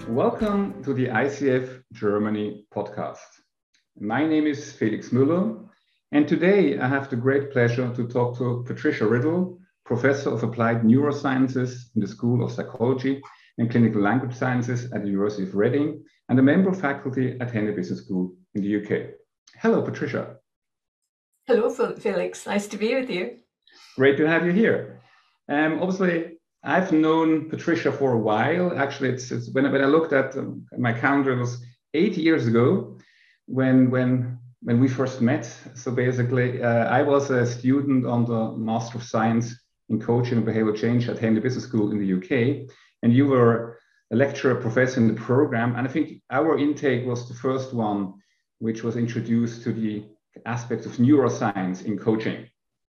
Welcome to the ICF Germany podcast. My name is Felix Müller, and today I have the great pleasure to talk to Patricia Riddle, Professor of Applied Neurosciences in the School of Psychology and Clinical Language Sciences at the University of Reading, and a member of faculty at Henley Business School in the UK. Hello, Patricia. Hello, Felix. Nice to be with you. Great to have you here. Obviously, I've known Patricia for a while. Actually, it's when I looked at my calendar, it was 8 years ago when we first met. So basically, I was a student on the Master of Science in Coaching and Behavioral Change at Henley Business School in the UK, and you were a lecturer, professor in the program. And I think our intake was the first one which was introduced to the aspects of neuroscience in coaching.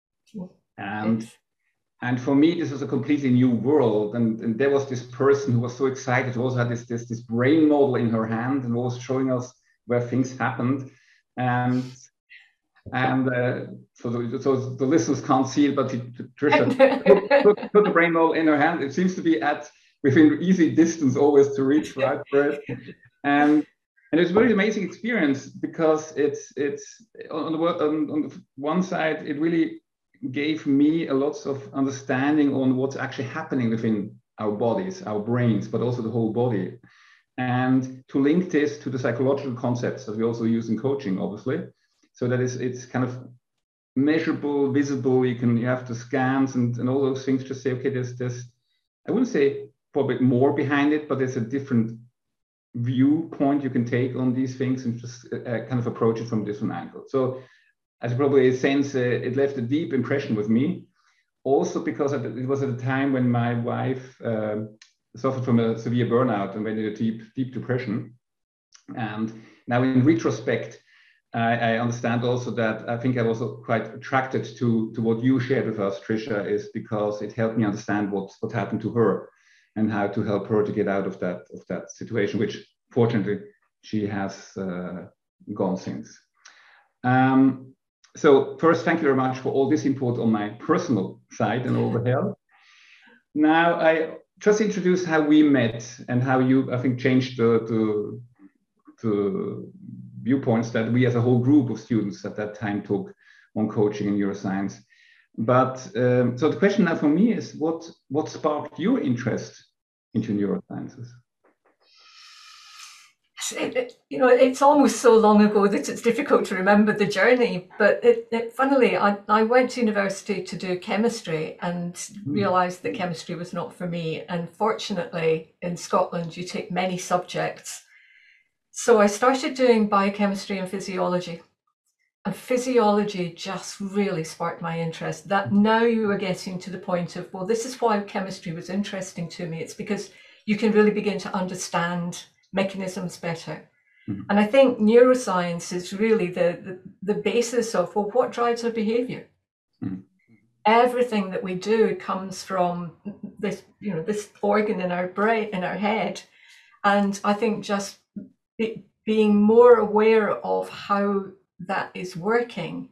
And for me, this was a completely new world. And there was this person who was so excited, who also had this brain model in her hand and was showing us where things happened. And so the listeners can't see it, but Patricia put the brain model in her hand. It seems to be within easy distance always to reach right for it. And it's a very amazing experience because it's on the one side, it really gave me a lot of understanding on what's actually happening within our bodies, our brains, but also the whole body. And to link this to the psychological concepts that we also use in coaching, obviously, so that it's kind of measurable, visible. You have the scans and all those things to say, okay, there's I wouldn't say probably more behind it, but there's a different viewpoint you can take on these things and just kind of approach it from a different angle. So as you probably sense, it left a deep impression with me. Also because it was at a time when my wife suffered from a severe burnout and went into deep depression. And now in retrospect, I understand also that I think I was quite attracted to what you shared with us, Tricia, is because it helped me understand what happened to her and how to help her to get out of that situation, which fortunately she has gone since. So first, thank you very much for all this input on my personal side and all the help. Now, I just introduced how we met and how you, I think, changed the viewpoints that we as a whole group of students at that time took on coaching and neuroscience. But so the question now for me is, what sparked your interest into neurosciences? It's almost so long ago that it's difficult to remember the journey. But funnily, I went to university to do chemistry and realised that chemistry was not for me. And fortunately, in Scotland, you take many subjects. So I started doing biochemistry and physiology. And physiology just really sparked my interest. That now you are getting to the point of, well, this is why chemistry was interesting to me. It's because you can really begin to understand mechanisms better. Mm-hmm. And I think neuroscience is really the basis of, well, what drives our behavior? Mm-hmm. Everything that we do comes from this, this organ in our brain, in our head. And I think just being more aware of how that is working,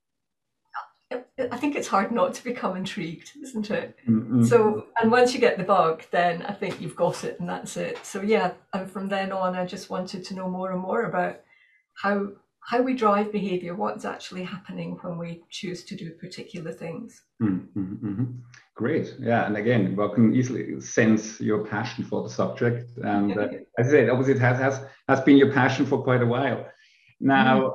I think it's hard not to become intrigued, isn't it? Mm-hmm. So, and once you get the bug, then I think you've got it and that's it. So yeah, and from then on, I just wanted to know more and more about how we drive behavior, what's actually happening when we choose to do particular things. Mm-hmm. Mm-hmm. Great. Yeah. And again, one can easily sense your passion for the subject. And as I said, obviously it has been your passion for quite a while. Now,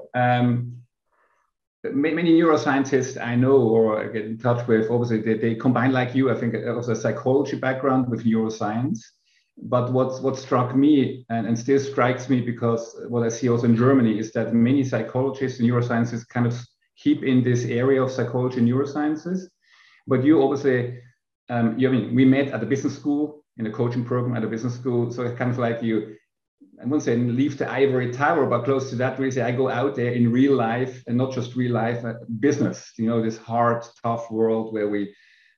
many neuroscientists I know or get in touch with, obviously they combine, like you, I think, also a psychology background with neuroscience. But what struck me and still strikes me, because what I see also in Germany is that many psychologists and neuroscientists kind of keep in this area of psychology and neurosciences. But you obviously, we met at the business school, in a coaching program at a business school. So it's kind of like you, I wouldn't say leave the ivory tower, but close to that, really say I go out there in real life, and not just real life, business, this hard, tough world where we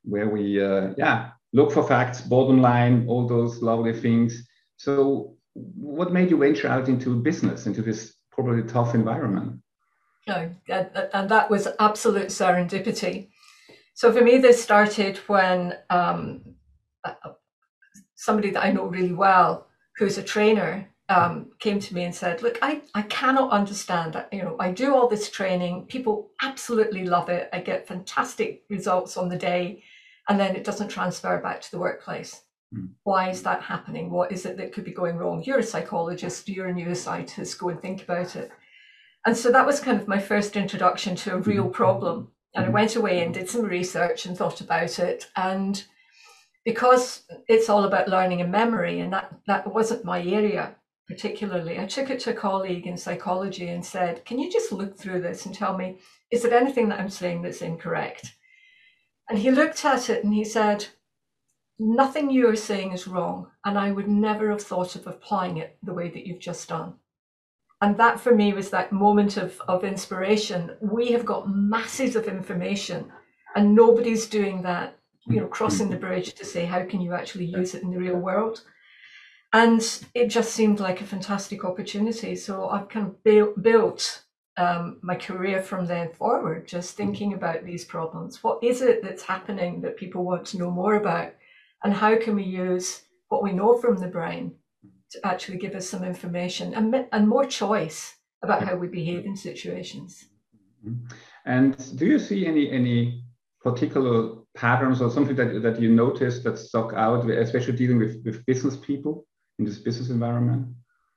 look for facts, bottom line, all those lovely things. So what made you venture out into business, into this probably tough environment? No, and that was absolute serendipity. So for me, this started when somebody that I know really well, who's a trainer, came to me and said, look, I cannot understand that. I do all this training. People absolutely love it. I get fantastic results on the day, and then it doesn't transfer back to the workplace. Why is that happening? What is it that could be going wrong? You're a psychologist, you're a neuroscientist, go and think about it. And so that was kind of my first introduction to a real problem. And I went away and did some research and thought about it. And because it's all about learning and memory, and that wasn't my area particularly, I took it to a colleague in psychology and said, can you just look through this and tell me, is there anything that I'm saying that's incorrect? And he looked at it and he said, nothing you are saying is wrong, and I would never have thought of applying it the way that you've just done. And that for me was that moment of inspiration. We have got masses of information and nobody's doing that, crossing the bridge to say, how can you actually use it in the real world? And it just seemed like a fantastic opportunity. So I've kind of built my career from then forward, just thinking about these problems. What is it that's happening that people want to know more about? And how can we use what we know from the brain to actually give us some information and more choice about how we behave in situations? And do you see any particular patterns or something that you noticed that stuck out, especially dealing with business people in this business environment?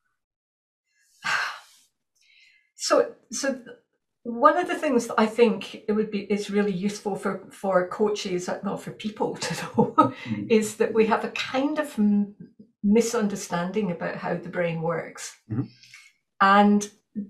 So one of the things that I think is really useful for coaches, not for people to know, is that we have a kind of misunderstanding about how the brain works. And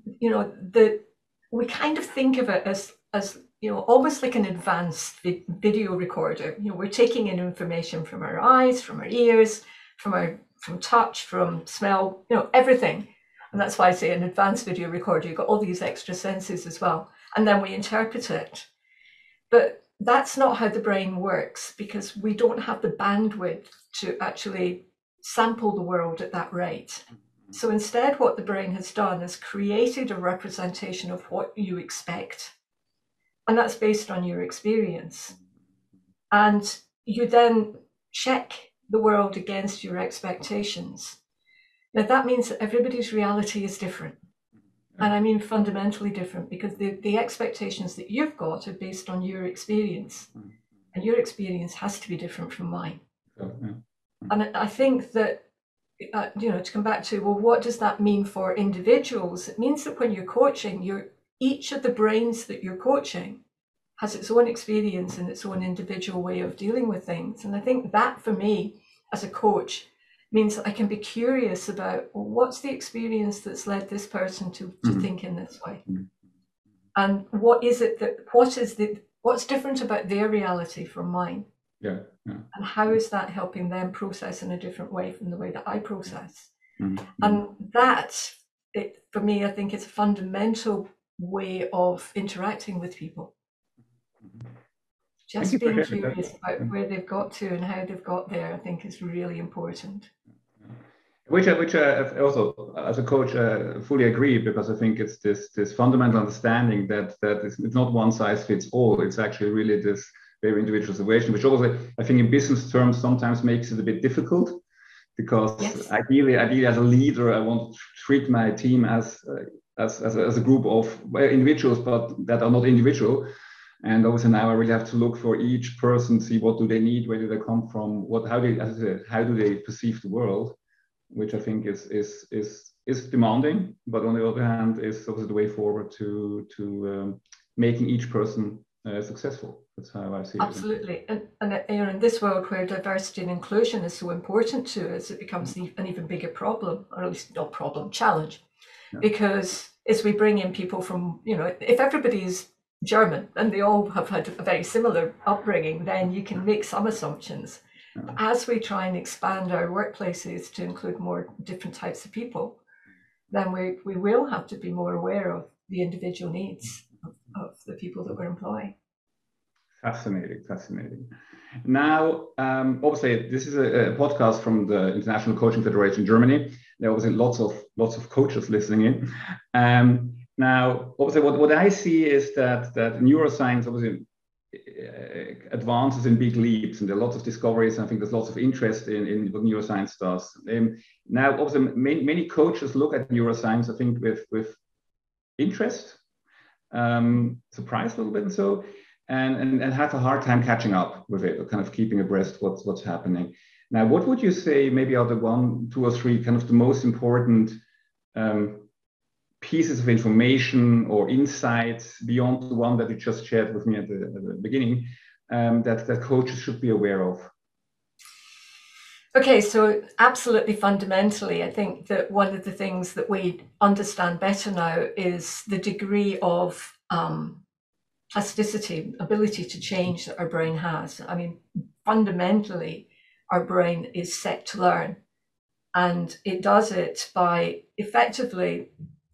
we kind of think of it as almost like an advanced video recorder. We're taking in information from our eyes, from our ears, from touch, from smell, everything. And that's why I say an advanced video recorder, you've got all these extra senses as well. And then we interpret it. But that's not how the brain works, because we don't have the bandwidth to actually sample the world at that rate. So instead, what the brain has done is created a representation of what you expect. And that's based on your experience. And you then check the world against your expectations. Now, that means that everybody's reality is different. And I mean fundamentally different, because the expectations that you've got are based on your experience. And your experience has to be different from mine. And I think that, to come back to, well, what does that mean for individuals? It means that when you're coaching, each of the brains that you're coaching has its own experience and its own individual way of dealing with things. And I think that, for me, as a coach, means that I can be curious about, well, what's the experience that's led this person to think in this way? And what's different about their reality from mine? And how is that helping them process in a different way from the way that I process? And that, for me, I think it's a fundamental way of interacting with people. Just being curious about where they've got to and how they've got there, I think, is really important. Which I also, as a coach, fully agree, because I think it's this fundamental understanding that it's not one size fits all. It's actually really this very individual situation, which also, I think, in business terms, sometimes makes it a bit difficult, because ideally, as a leader, I want to treat my team as a group of individuals, but that are not individual. And obviously now I really have to look for each person, see what do they need, where do they come from, how do they perceive the world, which I think is demanding, but on the other hand is obviously the way forward to making each person successful. That's how I see it. Absolutely, and in this world where diversity and inclusion is so important to us, it becomes an even bigger problem, or at least not problem, challenge, because as we bring in people from, if everybody's German and they all have had a very similar upbringing, then you can make some assumptions. As we try and expand our workplaces to include more different types of people, then we will have to be more aware of the individual needs of the people that we're employing. Fascinating. Now, obviously, this is a podcast from the International Coaching Federation Germany. There are obviously lots of coaches listening in. Now, obviously, what I see is that neuroscience obviously advances in big leaps, and there are lots of discoveries. I think there's lots of interest in what neuroscience does. Now, also, many coaches look at neuroscience, I think, with interest, surprised a little bit, and so, and have a hard time catching up with it, or kind of keeping abreast what's happening. Now, what would you say maybe are the 1, 2, or 3 kind of the most important pieces of information or insights beyond the one that you just shared with me at the beginning, that coaches should be aware of? Okay, so absolutely fundamentally, I think that one of the things that we understand better now is the degree of plasticity, ability to change that our brain has. I mean, fundamentally, our brain is set to learn, and it does it by effectively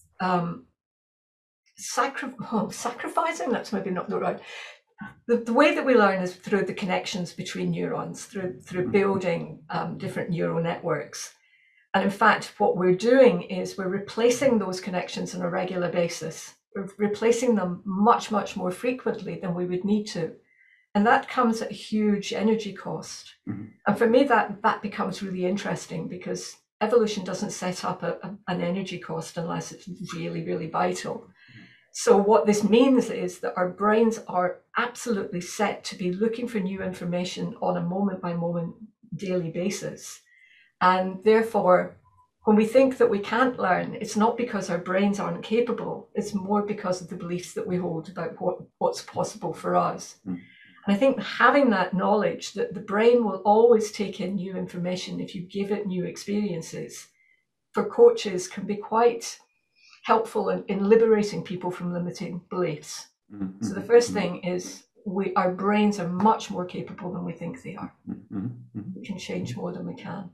sacrificing, that's maybe not the right. The way that we learn is through the connections between neurons, through building different neural networks. And in fact, what we're doing is we're replacing those connections on a regular basis. We're replacing them much, much more frequently than we would need to. And that comes at a huge energy cost. Mm-hmm. And for me, that becomes really interesting, because evolution doesn't set up an energy cost unless it's really, really vital. So what this means is that our brains are absolutely set to be looking for new information on a moment by moment daily basis. And therefore, when we think that we can't learn, it's not because our brains aren't capable, it's more because of the beliefs that we hold about what's possible for us. Mm. And I think having that knowledge that the brain will always take in new information if you give it new experiences, for coaches can be quite helpful in liberating people from limiting beliefs. Mm-hmm. So the first thing is our brains are much more capable than we think they are. Mm-hmm. We can change more than we can.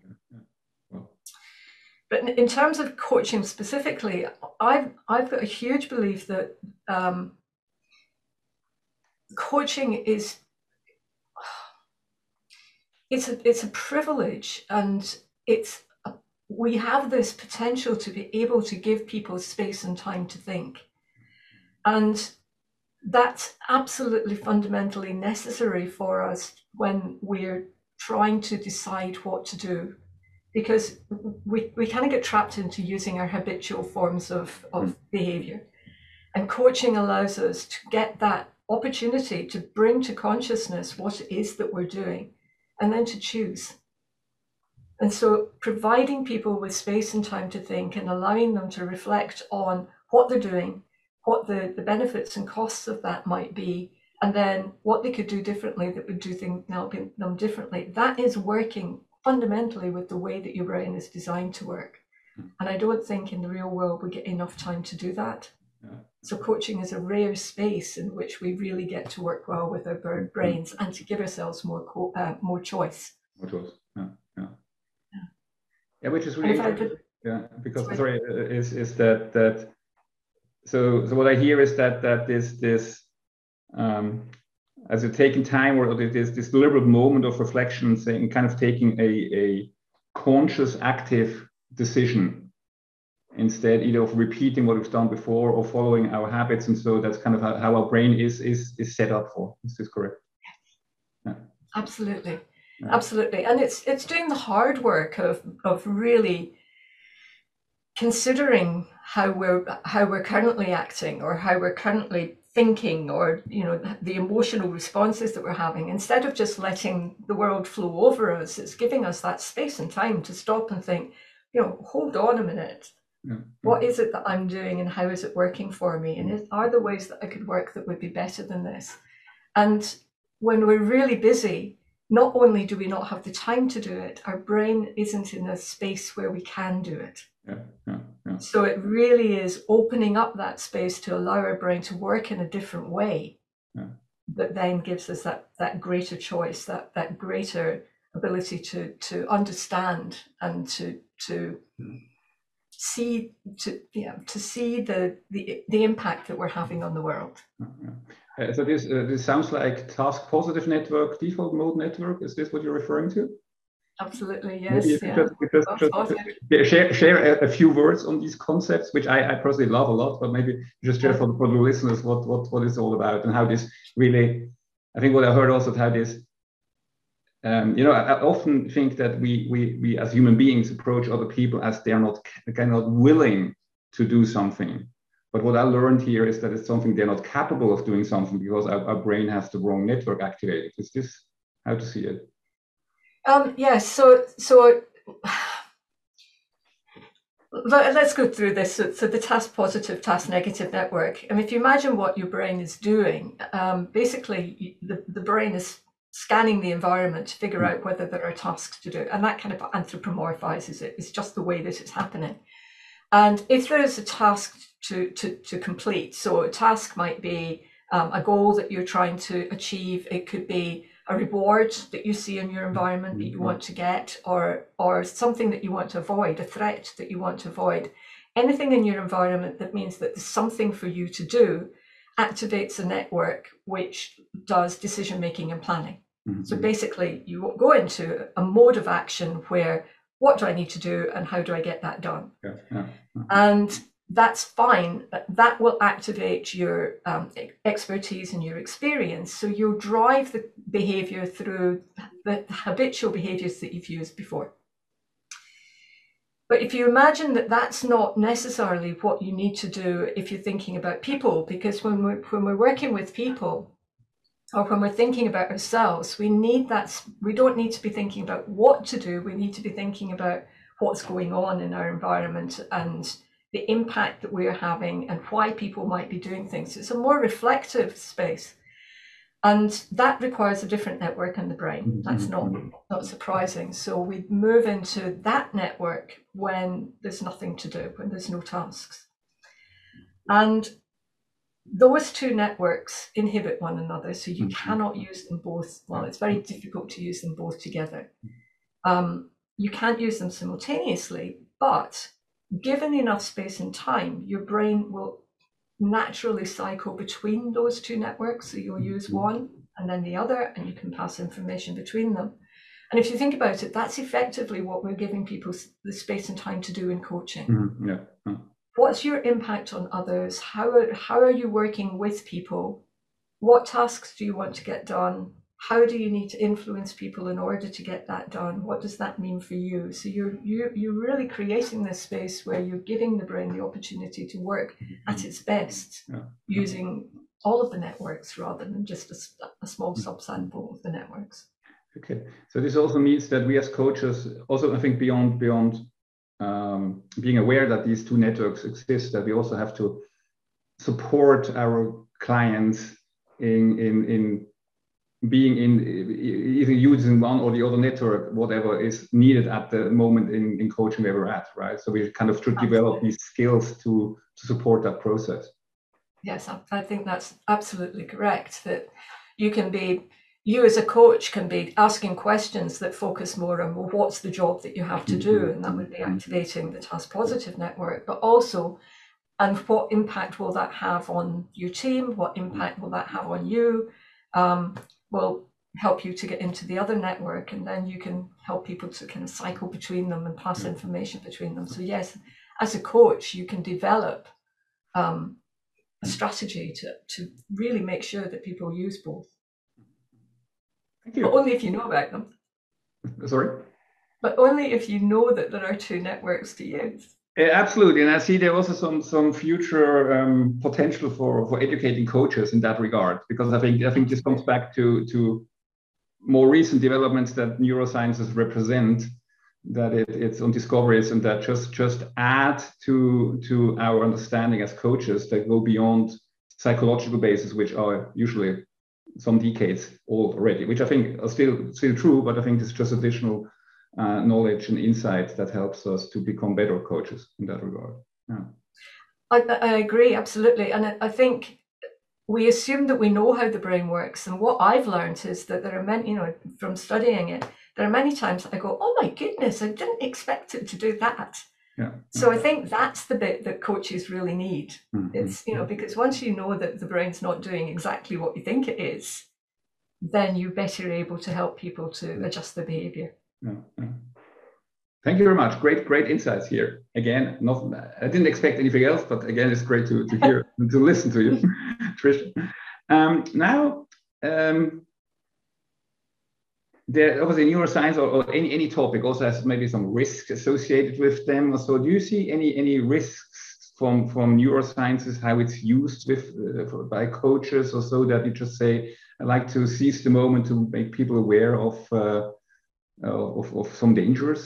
But in terms of coaching specifically, I've got a huge belief that coaching is it's a privilege, and we have this potential to be able to give people space and time to think. And that's absolutely fundamentally necessary for us when we're trying to decide what to do, because we kind of get trapped into using our habitual forms of behavior. And coaching allows us to get that opportunity to bring to consciousness what it is that we're doing, and then to choose. And so providing people with space and time to think, and allowing them to reflect on what they're doing, what the benefits and costs of that might be, and then what they could do differently that would do them differently. That is working fundamentally with the way that your brain is designed to work. And I don't think in the real world we get enough time to do that. Yeah. So coaching is a rare space in which we really get to work well with our brains and to give ourselves more choice. More choice, yeah. Yeah, which is really because is that so what I hear is that this as you're taking time, or this deliberate moment of reflection, saying kind of taking a conscious, active decision instead either of repeating what we've done before or following our habits, and so that's kind of how our brain is set up for. Is this correct? Yeah. Absolutely. Absolutely. And it's doing the hard work of really considering how we're currently acting, or how we're currently thinking, or the emotional responses that we're having. Instead of just letting the world flow over us, it's giving us that space and time to stop and think, hold on a minute. Yeah. What is it that I'm doing, and how is it working for me? And are there ways that I could work that would be better than this? And when we're really busy, not only do we not have the time to do it, our brain isn't in a space where we can do it. Yeah. So it really is opening up that space to allow our brain to work in a different way, that then gives us that greater choice, that greater ability to understand and to see the impact that we're having on the world. So this sounds like task positive network, default mode network. Is this what you're referring to? Absolutely, yes. Maybe if you just share a few words on these concepts, which I personally love a lot, but maybe just share for the listeners what it's all about, and how this really I think what I heard also, Tad, is, I often think that we as human beings approach other people as they are not kind of willing to do something. But what I learned here is that it's something they're not capable of doing something because our brain has the wrong network activated. Is this how to see it? Yes. So let's go through this. So the task positive, task negative network. I mean, if you imagine what your brain is doing, basically the brain is scanning the environment to figure out whether there are tasks to do, and that kind of anthropomorphizes it. It's just the way that it's happening. And if there is a task to complete, so a task might be a goal that you're trying to achieve. It could be a reward that you see in your environment that you want to get, or something that you want to avoid, a threat that you want to avoid. Anything in your environment that means that there's something for you to do activates a network which does decision making and planning. So basically you go into a mode of action where, what do I need to do and how do I get that done? And that's fine. That will activate your expertise and your experience. So you'll drive the behavior through the habitual behaviors that you've used before. But if you imagine that that's not necessarily what you need to do if you're thinking about people, because when we're working with people, or when we're thinking about ourselves, we don't need to be thinking about what to do. We need to be thinking about what's going on in our environment and the impact that we're having and why people might be doing things. It's a more reflective space. And that requires a different network in the brain. That's not surprising. So we move into that network when there's nothing to do, when there's no tasks. And those two networks inhibit one another, so you cannot use them both. Well, it's very difficult to use them both together. You can't use them simultaneously, but given enough space and time, your brain will naturally cycle between those two networks. So you'll use one and then the other, and you can pass information between them. And if you think about it, that's effectively what we're giving people the space and time to do in coaching. What's your impact on others? How are you working with people? What tasks do you want to get done? How do you need to influence people in order to get that done? What does that mean for you? So you're really creating this space where you're giving the brain the opportunity to work at its best, using all of the networks rather than just a small subsample of the networks. Okay, so this also means that we as coaches, also I think beyond being aware that these two networks exist, that we also have to support our clients in being either using one or the other network, whatever is needed at the moment in coaching where we're at, right? So we kind of should develop these skills to support that process. Yes, I think that's absolutely correct. That you as a coach can be asking questions that focus more on, well, what's the job that you have to do? And that would be activating the task positive network, but also, and what impact will that have on your team? What impact will that have on you? Will help you to get into the other network, and then you can help people to kind of cycle between them and pass information between them. So yes, as a coach, you can develop a strategy to really make sure that people use both. Thank you. But only if you know about them. Sorry? But only if you know that there are two networks to use. Yeah, absolutely, and I see there also some future potential for educating coaches in that regard, because I think this comes back to more recent developments that neurosciences represent, that it's on discoveries and that just add to our understanding as coaches that go beyond psychological bases, which are usually some decades old already, which I think are still true, but I think it's just additional knowledge and insight that helps us to become better coaches in that regard. Yeah. I agree, absolutely. And I think we assume that we know how the brain works. And what I've learned is that there are many, from studying it, there are many times I go, oh my goodness, I didn't expect it to do that. Yeah. So I think that's the bit that coaches really need. It's, because once you know that the brain's not doing exactly what you think it is, then you're better able to help people to adjust their behavior. Yeah. Thank you very much. Great insights here. Again, I didn't expect anything else, but again, it's great to hear and to listen to you, Trish. Now, obviously neuroscience or any topic also has maybe some risks associated with them. So do you see any risks from neurosciences, how it's used by coaches, or so that you just say, I like to seize the moment to make people aware of some dangers?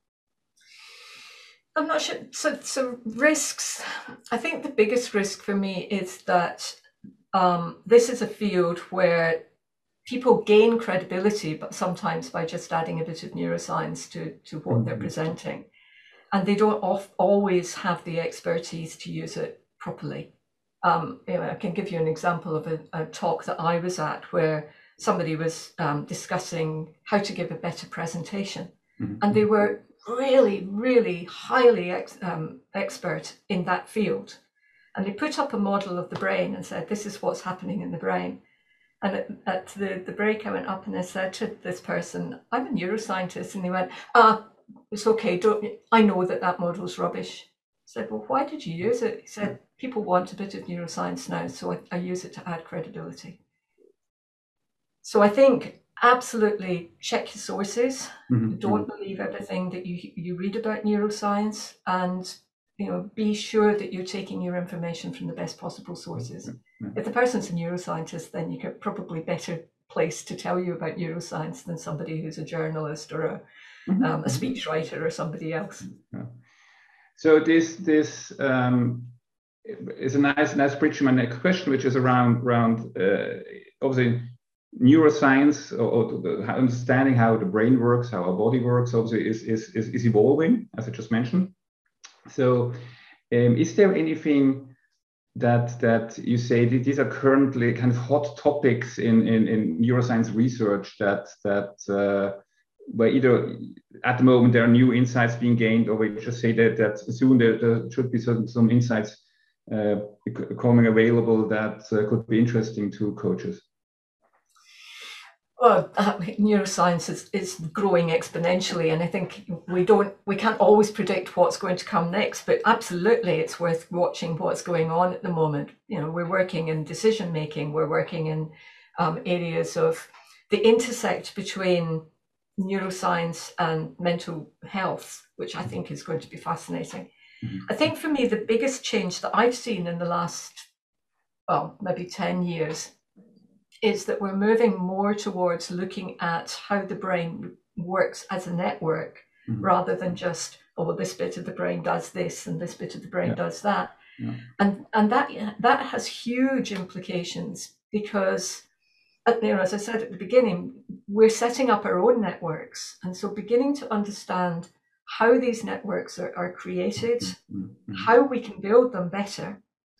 I'm not sure. So risks, I think the biggest risk for me is that this is a field where people gain credibility, but sometimes by just adding a bit of neuroscience to what they're presenting. And they don't always have the expertise to use it properly. I can give you an example of a talk that I was at where somebody was discussing how to give a better presentation. And they were really, really highly expert in that field. And they put up a model of the brain and said, this is what's happening in the brain. And at the break, I went up and I said to this person, I'm a neuroscientist. And they went, it's okay, I know that model's rubbish. I said, well, why did you use it? He said, people want a bit of neuroscience now, so I use it to add credibility. So I think absolutely check your sources. Don't believe everything that you read about neuroscience, and be sure that you're taking your information from the best possible sources. If the person's a neuroscientist, then you're probably better placed to tell you about neuroscience than somebody who's a journalist or a speechwriter or somebody else. So this is a nice bridge to my next question, which is around obviously neuroscience or understanding how the brain works, how our body works, obviously is evolving, as I just mentioned. So is there anything that you say that these are currently kind of hot topics in neuroscience research that where either at the moment there are new insights being gained, or we just say that soon there should be some insights becoming available that could be interesting to coaches? Well, neuroscience is growing exponentially, and I think we can't always predict what's going to come next, but absolutely it's worth watching what's going on at the moment. We're working in decision making, we're working in areas of the intersect between neuroscience and mental health, which I think is going to be fascinating. I think for me, the biggest change that I've seen in the last, maybe 10 years is that we're moving more towards looking at how the brain works as a network, rather than just, this bit of the brain does this and this bit of the brain does that. And that has huge implications, because as I said at the beginning, we're setting up our own networks. And so beginning to understand how these networks are created, how we can build them better,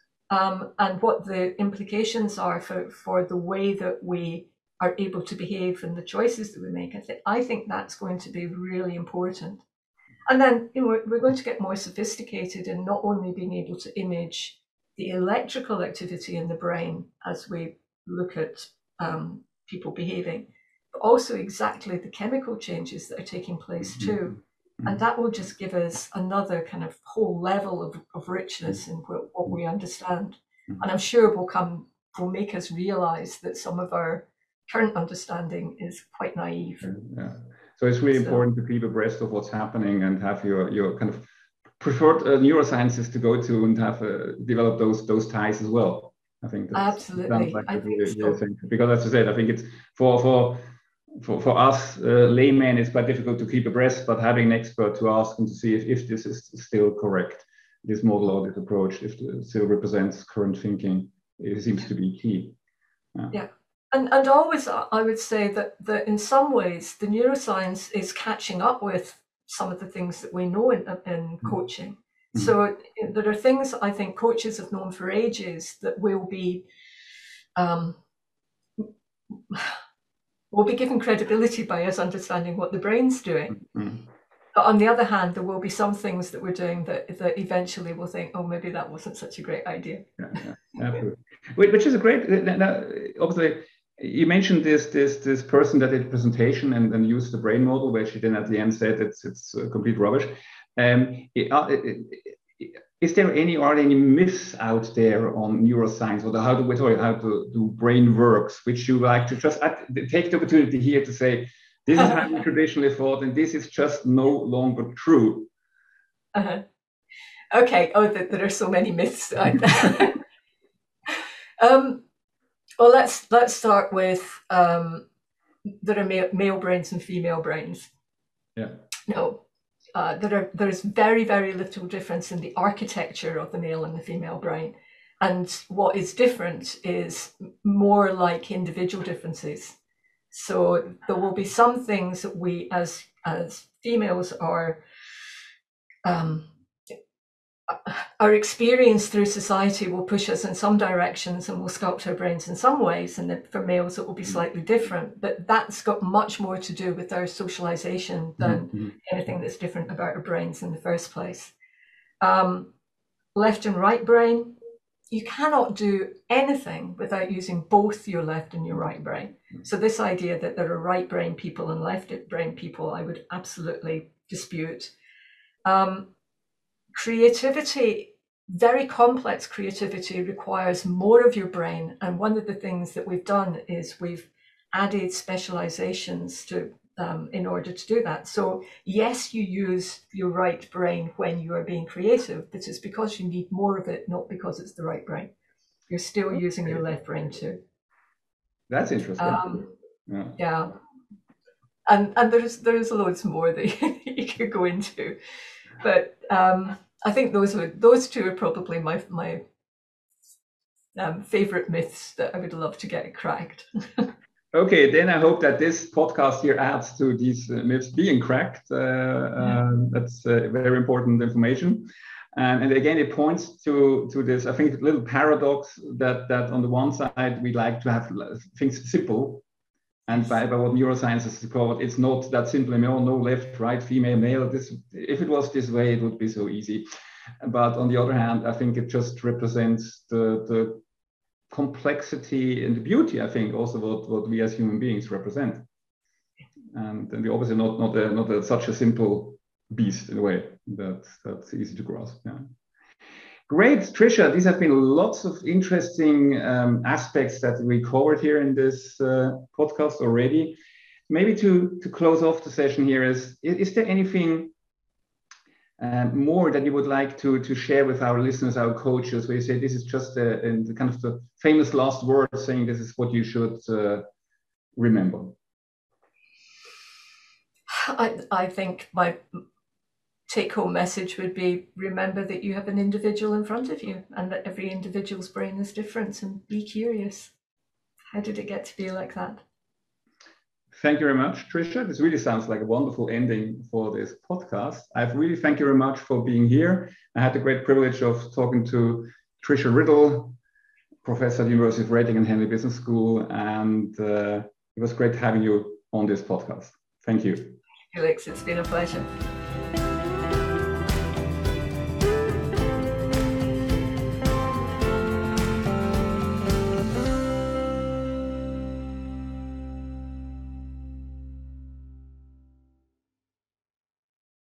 and what the implications are for the way that we are able to behave and the choices that we make. I think that's going to be really important. And then we're going to get more sophisticated in not only being able to image the electrical activity in the brain as we look at people behaving, but also exactly the chemical changes that are taking place too. And that will just give us another kind of whole level of richness in what we understand. And I'm sure will make us realize that some of our current understanding is quite naive. So it's really important to keep abreast of what's happening and have your kind of preferred neurosciences to go to and have develop those ties as well. I think that's absolutely. Like because as I said, I think it's for us laymen, it's quite difficult to keep abreast, but having an expert to ask and to see if this is still correct, this model or this approach, if it still represents current thinking, it seems to be key. Yeah. And always, I would say that in some ways, the neuroscience is catching up with some of the things that we know in coaching. So there are things I think coaches have known for ages that will be given credibility by us understanding what the brain's doing. But on the other hand, there will be some things that we're doing that eventually we'll think, maybe that wasn't such a great idea. Absolutely. Which is a great. Obviously, you mentioned this person that did a presentation and used the brain model, where she then at the end said it's complete rubbish. Is there are there any myths out there on neuroscience, or how to do brain works, which you like to just take the opportunity here to say, this is how we traditionally thought, and this is just no longer true? Okay. Oh, there are so many myths. Well, let's start with there are male brains and female brains. Yeah. No. There's very, very little difference in the architecture of the male and the female brain. And what is different is more like individual differences. So there will be some things that we as females our experience through society will push us in some directions and will sculpt our brains in some ways, and then for males it will be slightly different, but that's got much more to do with our socialization than anything that's different about our brains in the first place. Left and right brain, you cannot do anything without using both your left and your right brain. So this idea that there are right brain people and left brain people, I would absolutely dispute. Creativity, very complex creativity, requires more of your brain. And one of the things that we've done is we've added specializations to in order to do that. So yes, you use your right brain when you are being creative, but it's because you need more of it, not because it's the right brain. You're still using your left brain too. That's interesting. Yeah. And there's loads more that you could go into. But I think those two are probably my favorite myths that I would love to get cracked. Okay, then I hope that this podcast here adds to these myths being cracked. That's very important information. And again, it points to this, I think, little paradox that on the one side, we like to have things simple. And by what neuroscience is called, it's not that simple. No left, right, female, male. If it was this way, it would be so easy. But on the other hand, I think it just represents the complexity and the beauty, I think, also what we as human beings represent. And we're obviously not such a simple beast in a way that's easy to grasp. Yeah. Great, Tricia. These have been lots of interesting aspects that we covered here in this podcast already. Maybe to close off the session here, is there anything more that you would like to share with our listeners, our coaches, where you say this is just the kind of the famous last word saying this is what you should remember? I think my take-home message would be, remember that you have an individual in front of you and that every individual's brain is different, and be curious. How did it get to be like that? Thank you very much, Tricia. This really sounds like a wonderful ending for this podcast. I really thank you very much for being here. I had the great privilege of talking to Tricia Riddle, professor at the University of Reading and Henley Business School, and it was great having you on this podcast. Thank you. Felix, it's been a pleasure.